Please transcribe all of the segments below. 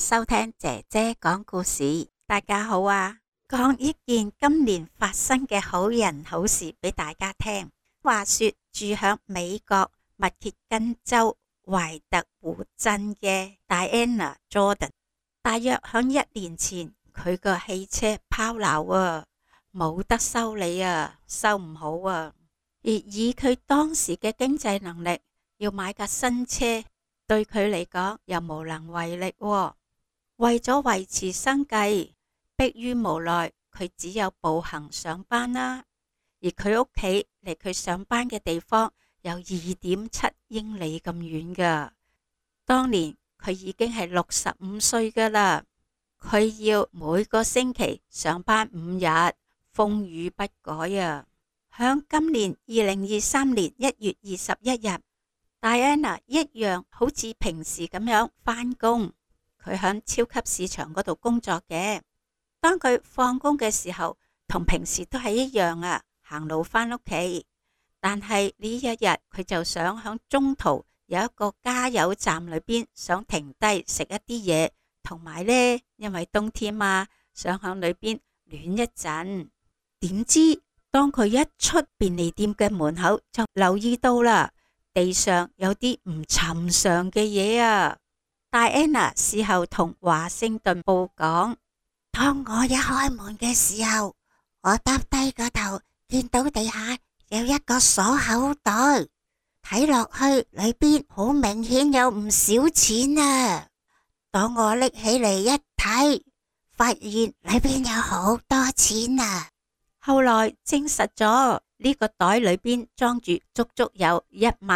收聽姐姐講故事。大家好啊，講一件今年發生嘅好人好事俾大家聽。話說住響美國密歇根州懷特湖鎮嘅 Diana Jordan， 大約響1年前，佢個汽車拋錨啊，冇得修理啊，修唔好啊。而以佢當時嘅經濟能力，要買架新車，對佢嚟講又無能為力喎。為咗維持生計，迫於無奈，佢只有步行上班啦。而佢屋企離佢上班嘅地方有2.7英里咁遠噶。當年佢已經係65歲噶啦，佢要每個星期上班5日，風雨不改啊。響今年2023年1月21日，Diana 一樣好似平時咁樣返工。佢響超級市場嗰度工作嘅。當佢放工嘅時候，同平時都係一樣啊，行路返屋企。但係呢一日，佢就想響中途有一個加油站裏邊想停低食一啲嘢，同埋呢，因為冬天嘛，想響裏邊暖一陣。點知當佢一出便利店嘅門口，就留意到啦，地上有啲唔尋常嘅嘢啊。Diana 事後同華盛頓報講，當我一開門嘅時候，我耷低個頭，見到地下有一個鎖口袋，睇落去裏邊好明顯有唔少錢啊。當我拎起嚟一睇，發現裏邊有好多錢啊。後來證實咗呢個袋裏邊裝住足足有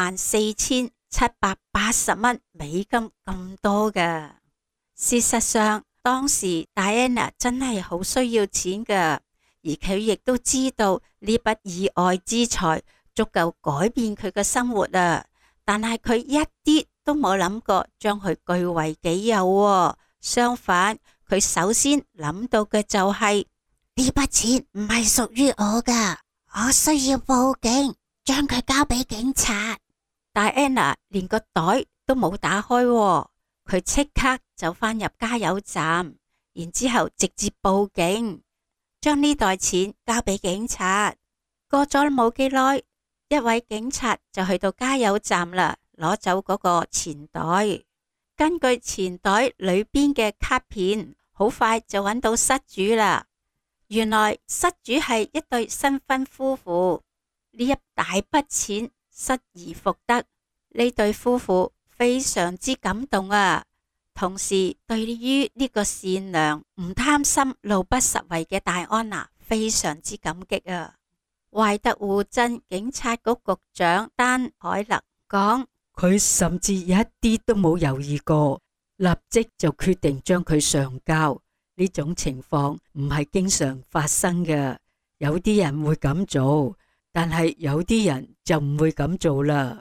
14,780蚊美金咁多㗎。事實上，當時 Diana 真係好需要錢㗎，而佢亦都知道呢筆意外之財足夠改變佢嘅生活啊。但係佢一啲都冇諗過將佢據為己有喎。相反，佢首先諗到嘅就係呢筆錢唔係屬於我㗎，我需要報警，將佢交俾警察。Diana 連個袋都冇打開喎，佢即刻就返入加油站，然之後直接報警，將呢袋錢交俾警察。過咗冇幾耐，一位警察就去到加油站啦，攞走嗰個錢袋。根據錢袋裏邊嘅卡片，好快就揾到失主啦。原來失主係一對新婚夫婦，呢一大筆錢失而復得，呢對夫婦非常之感動啊！同時對於呢個善良、唔貪心、路不拾遺嘅戴安娜非常之感激啊！懷特湖鎮警察局局長丹海勒講， 佢甚至一啲都冇猶豫過，立即就決定將佢上交。呢種情況唔係經常發生嘅，有啲人會咁做，但係有啲人就唔會咁做啦。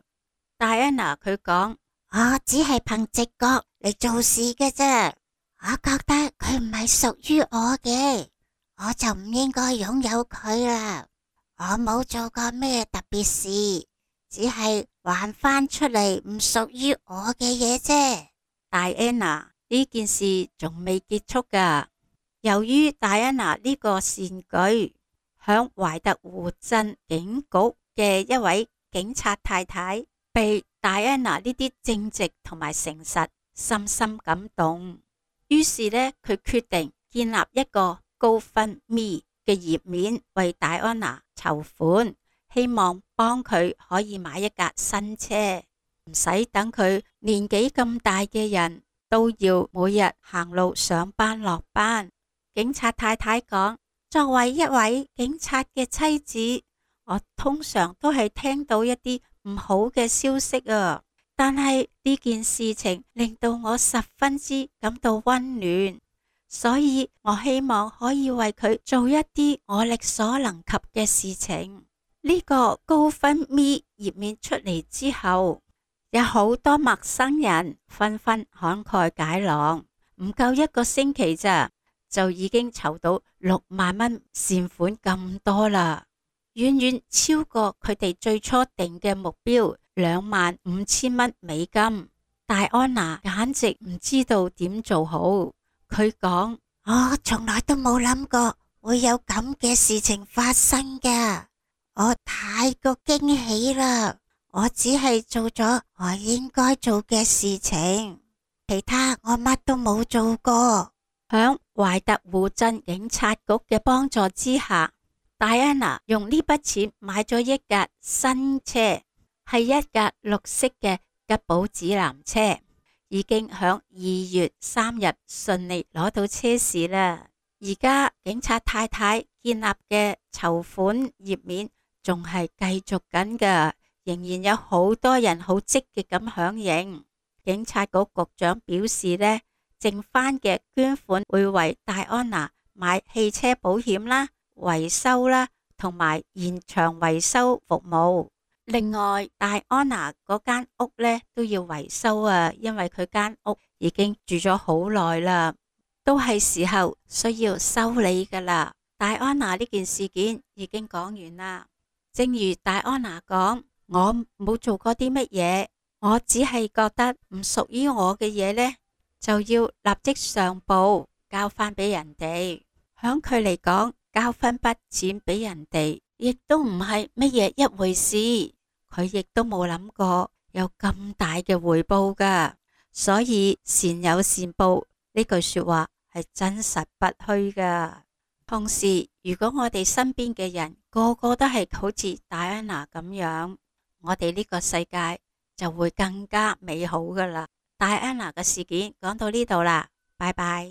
Diana 佢講，我只係憑直覺嚟做事嘅啫，我覺得佢唔係屬於我嘅，我就唔應該擁有佢啦。我冇做過咩特別事，只係還翻出嚟唔屬於我嘅嘢啫。Diana，呢件事仲未結束噶。由於 Diana 呢個善舉，響懷特湖鎮警局嘅一位警察太太被 Diana 呢啲正直同埋誠實深深感動，於是呢，佢決定建立一個 GoFundMe 嘅頁面為 Diana 籌款，希望幫佢可以買一架新車，唔使等佢年紀咁大嘅人都要每日行路上班落班。警察太太講，作為一位警察嘅妻子，我通常都係聽到一啲唔好嘅消息啊，但係呢件事情令到我十分之感到溫暖，所以我希望可以為佢做一啲我力所能及嘅事情。呢個GoFundMe頁面出嚟之後，有好多陌生人紛紛慷慨解囊，唔夠一個星期咋，就已經籌到6萬蚊善款咁多啦，遠遠超過佢哋最初定嘅目標25000蚊美金。 戴安娜簡直唔知道點做好。佢講：我從來都冇諗過會有咁嘅事情發生㗎，我太過驚喜啦！我只係做咗我應該做嘅事情，其他我乜都冇做過。響懷特湖鎮警察局嘅幫助之下，戴安娜用呢筆錢買咗一架新車，係一架綠色嘅吉寶指南車，已經響2月3日順利攞到車匙啦。而家警察太太建立嘅籌款頁面仲係繼續緊㗎，仍然有好多人好積極咁響應。警察局局長表示呢，剩翻嘅捐款會為戴安娜買汽車保險啦、維修啦，同埋現場維修服務。另外，戴安娜嗰間屋呢都要維修啊，因為佢間屋已經住咗好耐啦，都係時候需要修理噶啦。戴安娜呢件事件已經講完啦。正如戴安娜講，我冇做過啲乜嘢，我只係覺得唔屬於我嘅嘢呢，就要立即上報交翻俾人哋。響佢嚟講，交翻筆錢俾人哋，亦都唔係乜嘢一回事。佢亦都冇諗過有咁大嘅回報噶，所以善有善報呢句說話係真實不虛噶。同時，如果我哋身邊嘅人個個都係好似戴安娜咁樣，我哋呢個世界就會更加美好噶啦。戴安娜嘅事件講到呢度啦，拜拜。